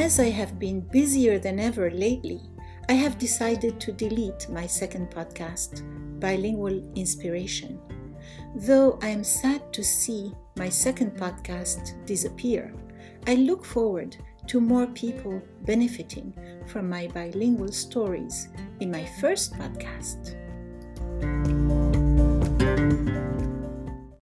As I have been busier than ever lately, I have decided to delete my second podcast, Bilingual Inspiration. Though I am sad to see my second podcast disappear, I look forward to more people benefiting from my bilingual stories in my first podcast.